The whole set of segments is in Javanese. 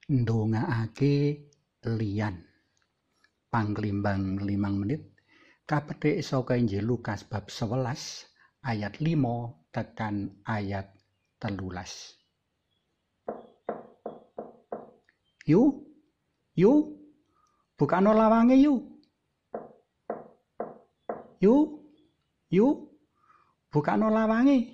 ndongakake liyan. Panglimbang 5 menit kapetik saka Injil Lukas bab 11 ayat 5 tekan ayat 13. Yu, bukano lawange yu. Yu, bukano lawange.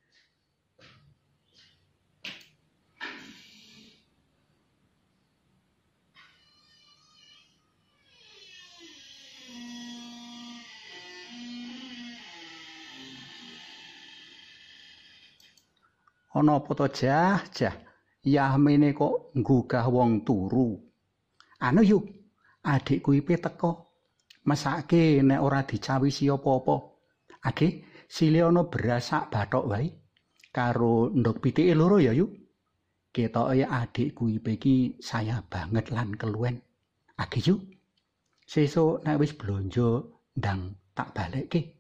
Ana apa to jah? Yahmene kok nggugah wong turu. Anu yu, adikku ipe teko. Mesake nek ora dicawisi apa-apa. Adik, sile ana beras sak bathok wae karo ndok pitike loro ya yu. Ketoke adikku ipe iki saya banget lan keluwen. Adik yu. Sesuk nek wis blonjo ndang tak balekke.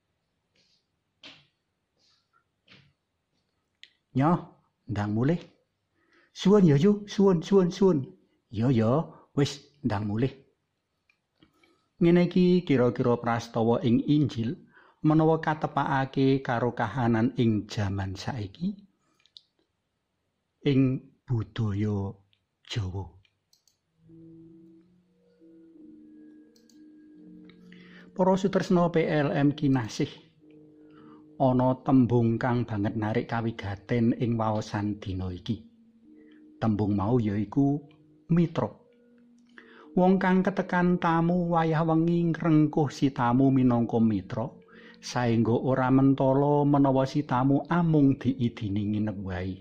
Nyoh, ndang mulih. Suwun ya yu, suwun. Ya, wis ndang mulih. Ngene iki kira-kira prastawa ing Injil menawa katepakake karo kahanan ing jaman saiki ing budaya Jawa. Para sutresna PLM kinasih. Ana tembung kang banget narik kawigaten ing waosan dina iki. Tembung mau yaiku mitra. Wong kang ketekan tamu wayah wengi ngrengkuh si tamu minangka mitra, saengga ora mentala menawa si tamu amung diidini nginep wae.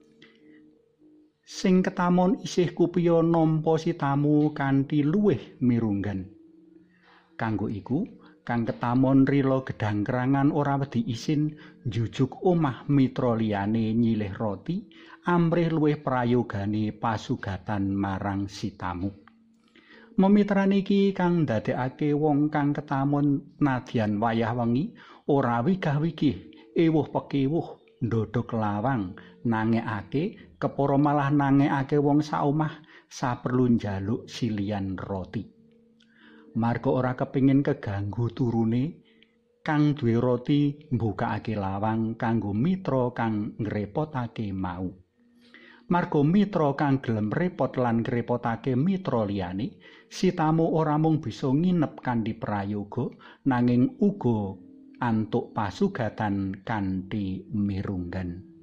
Sing ketamon isih kupiya nampa si tamu kanthi luwih mirunggan. Kanggo iku, kang ketamon rila gedang-kerangan ora wedi isin njujuk omah mitra liyane nyilih roti amrih luwih prayogane pasugatan marang si tamu. Memitran iki kang ndadekake wong kang ketamon nadyan wayah wengi ora wigah-wigih, ewuh pekewuh, ndodhok lawang, nangekake kepara malah nangekake wong saomah saperlu njaluk silian roti. Marga ora kepingin keganggu turune kang duwe roti mbukakake lawang kanggo mitra kang ngrepotake mau. Marga mitra kang gelem repot lan ngrepotake mitra liyane, si tamu ora mung bisa nginep kanthi prayoga nanging uga antuk pasugatan kanthi mirunggan.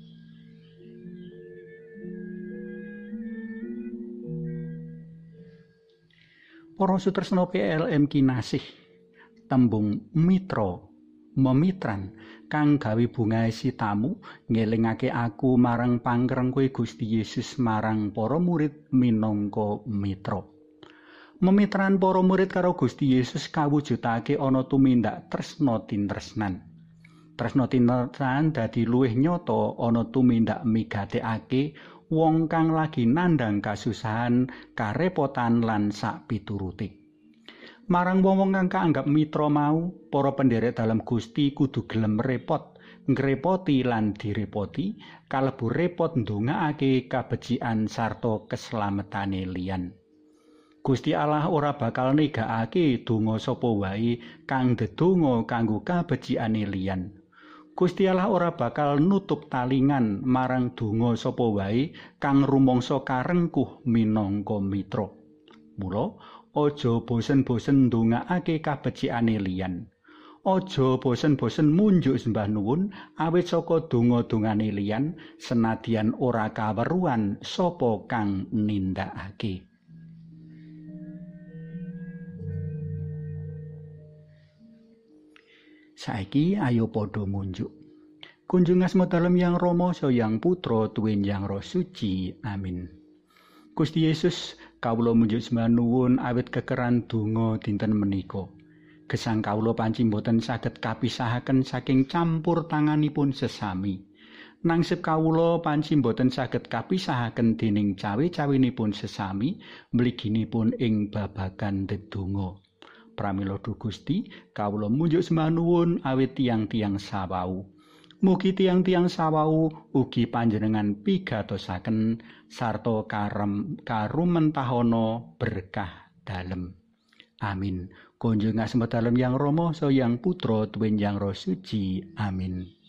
Para sutresna PLM kinasih, tembung mitra, memitran kang gawe bungahe si tamu ngelingake aku marang pangrengkuhe Gusti Yesus marang para murid minangka mitra. Memitran para murid karo Gusti Yesus kawujudake ana tumindak tresna tintresnan. Tresna tintresnan dadi luwih nyata ana tumindak migatekake wong kang lagi nandhang kasusahan, karepotan lan sak piturute. Marang wong-wong kang kaanggap mitra mau, para pendherek dalam Gusti kudu gelem repot, ngrepoti lan direpoti, kalebu repot ndongakake kabecikan sarta keslametane liyan. Gusti Allah ora bakal negakake donga sapa wae kang ndedonga kanggo kabecikane liyan. Gusti Allah ora bakal nutup talingan marang donga sapa wae kang rumangsa karengkuh minangka mitra. Mula aja bosen-bosen ndongakake kabecikane liyan. Aja bosen-bosen munjuk sembah nuwun awit saka donga-dongane liyan senadyan ora kaweruhan sapa kang nindakake. Saiki ayo padha munjuk. Kunjung asma dalem Yang Rama Sang Putra tuwin Yang Roh Suci. Amin. Gusti Yesus, kawula munjuk sembah nuwun awit kekeran donga dinten menika. Gesang kawula panci boten saged kapisahaken saking campur tanganipun sesami. Nangsip kawula panci boten saged kapisahaken dening cawe-cawinipun sesami mliginipun ing babagan dedonga. Pramila Duh Gusti, kawula munjuk sembah nuwun awit tiyang-tiyang sawau. Mugi tiang-tiang sawau ugi panjenengan pigatosaken sarta karumentahana berkah dalem. Amin. Kunjung asma dalem yang Rama sayang Putra tuwin yang Roh Suci. Amin.